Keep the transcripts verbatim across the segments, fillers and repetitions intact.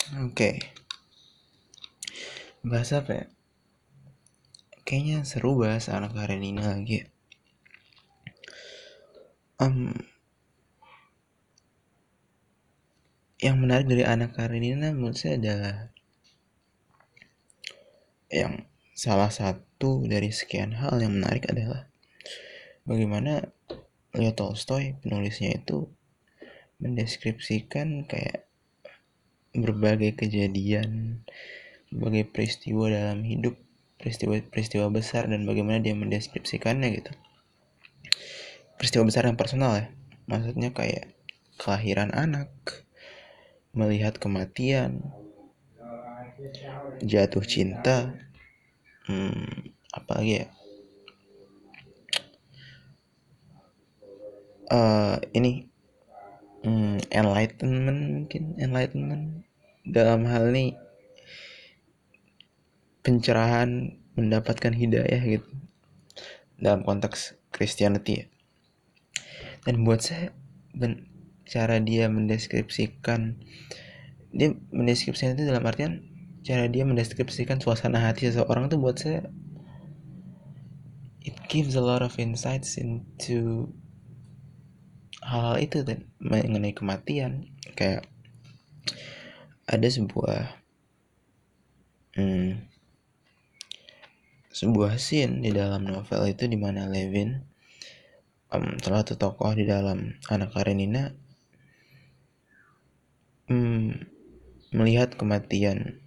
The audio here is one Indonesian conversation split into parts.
Oke, bahas apa ya? Kayaknya seru bahas anak Karenina lagi ya. Em, yang menarik dari anak Karenina menurut saya adalah yang salah satu dari sekian hal yang menarik adalah bagaimana Leo Tolstoy penulisnya itu mendeskripsikan kayak berbagai kejadian, berbagai peristiwa dalam hidup, peristiwa-peristiwa besar dan bagaimana dia mendeskripsikannya gitu. Peristiwa besar yang personal ya, maksudnya kayak kelahiran anak, melihat kematian, jatuh cinta, hmm, apa lagi ya? Eh ini hmm, enlightenment mungkin enlightenment dalam hal ini pencerahan, mendapatkan hidayah gitu dalam konteks Christianity ya. Dan buat saya ben, cara dia mendeskripsikan dia mendeskripsikan itu dalam artian cara dia mendeskripsikan suasana hati seseorang tuh buat saya it gives a lot of insights into hal-hal itu dan mengenai kematian. Kayak ada sebuah hmm, sebuah scene di dalam novel itu di mana Levin, um, salah satu tokoh di dalam Anak Karenina, um, melihat kematian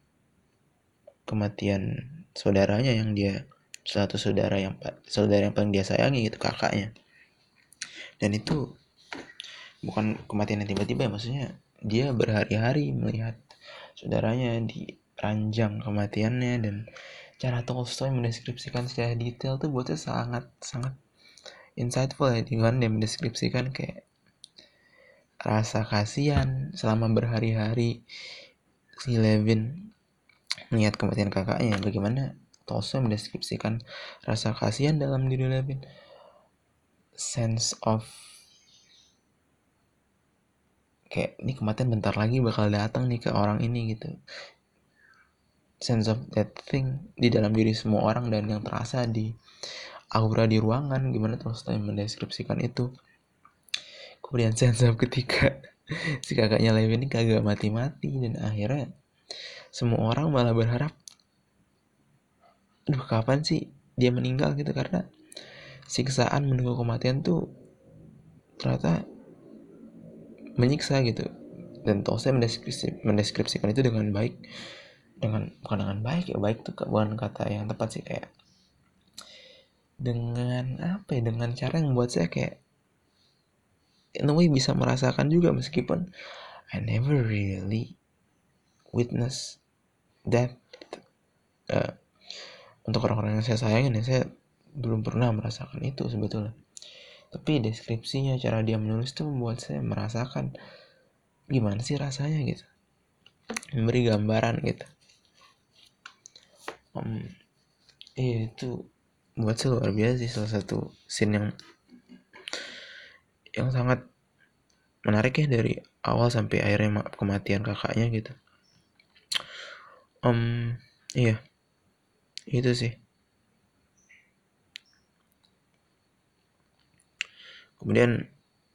kematian saudaranya yang dia salah satu saudara yang saudara yang paling dia sayangi gitu, kakaknya. Dan itu bukan kematian yang tiba-tiba ya, maksudnya dia berhari-hari melihat saudaranya di ranjang kematiannya. Dan cara Tolstoy mendeskripsikan secara detail tuh buatnya sangat sangat insightful ya, dengan dia mendeskripsikan kayak rasa kasihan selama berhari-hari si Levin melihat kematian kakaknya. Bagaimana Tolstoy mendeskripsikan rasa kasihan dalam diri Levin, sense of kayak ini kematian bentar lagi bakal datang nih ke orang ini gitu, sense of that thing di dalam diri semua orang dan yang terasa di aura di ruangan. Gimana Tolstoy mendeskripsikan itu. Kemudian sense of ketika si kakaknya Levin ini kagak mati-mati dan akhirnya semua orang malah berharap duh kapan sih dia meninggal gitu, karena siksaan menunggu kematian tuh ternyata menyiksa gitu. Dan Tolstoy mendeskripsi, mendeskripsikan itu dengan baik, dengan bukan dengan baik ya, baik tuh bukan kata yang tepat sih, kayak dengan apa ya, dengan cara yang membuat saya kayak in a way bisa merasakan juga, meskipun I never really witness that. uh, untuk orang-orang yang saya sayangin ya, saya belum pernah merasakan itu sebetulnya. Tapi deskripsinya, cara dia menulis tuh membuat saya merasakan gimana sih rasanya gitu, memberi gambaran gitu. um, iya itu buat saya luar biasa sih, salah satu scene yang yang sangat menarik ya dari awal sampai akhirnya kematian kakaknya gitu. um iya itu sih. Kemudian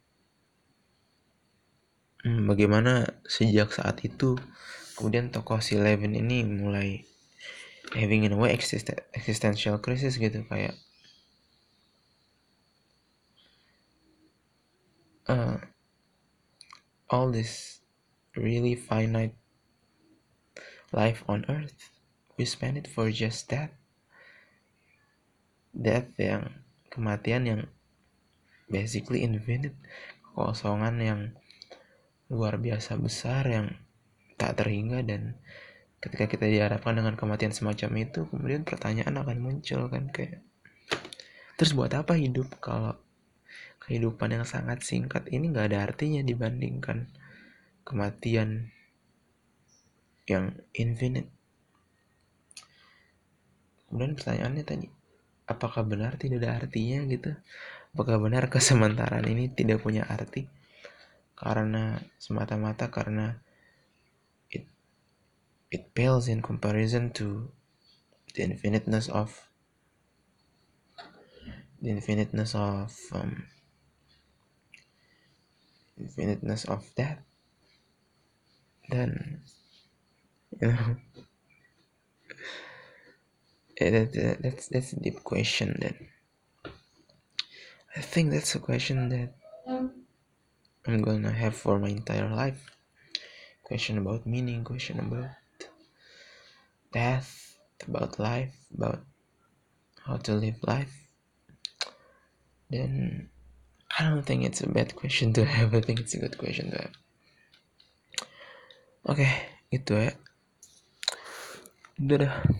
hmm, bagaimana sejak saat itu kemudian tokoh si Levin ini mulai having in a way existen- existential crisis gitu, kayak uh, all this really finite life on earth, we spend it for just that death yang kematian yang basically infinite, kekosongan yang luar biasa besar yang tak terhingga. Dan ketika kita dihadapkan dengan kematian semacam itu, kemudian pertanyaan akan muncul kan, kayak terus buat apa hidup kalau kehidupan yang sangat singkat ini gak ada artinya dibandingkan kematian yang infinite. Kemudian pertanyaannya tadi, apakah benar tidak ada artinya gitu? Apakah benar kesementaraan ini tidak punya arti karena semata-mata karena it pales in comparison to the infiniteness of the infiniteness of um, infiniteness of that, then you know that, that, that's that's a deep question. That I think that's a question that I'm gonna have for my entire life. Question about meaning, question about death, about life, about how to live life. Then I don't think it's a bad question to have. I think it's a good question to have. Oke, itu ya. Dadah.